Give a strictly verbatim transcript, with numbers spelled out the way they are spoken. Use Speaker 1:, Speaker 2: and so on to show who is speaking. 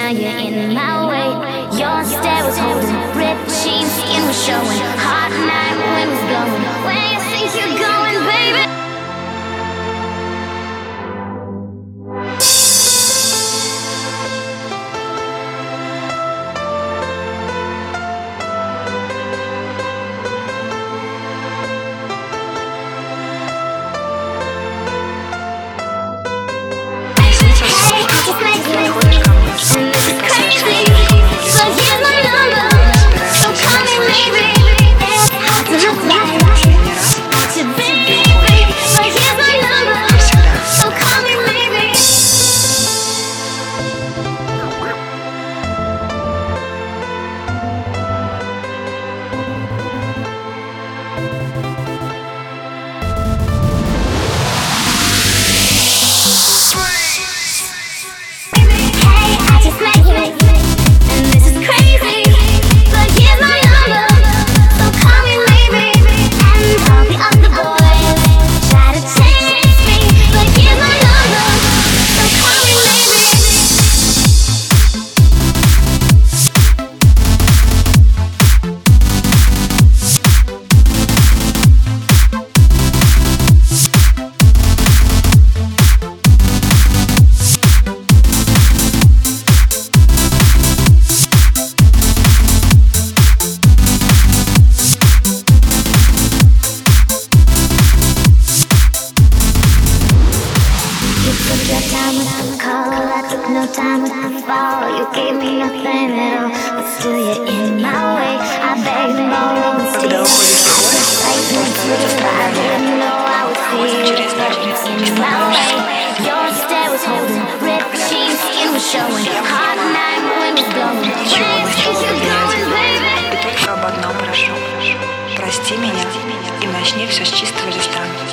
Speaker 1: now you're in my way. Your stare was holding, ripped jeans, skin was showing. Hot night, wind was blowing. Where you think you're going, baby? No time to fall, you gave me nothing at all, but still you're in my way. I beg and borrow and steal. I didn't know I would feel in my way. Your stare was holding, ripped jeans, skin was showing. Hot night, wind was blowing. Where you think you're going, baby?
Speaker 2: И только об одном прошу: прости меня и начни все с чистого листа.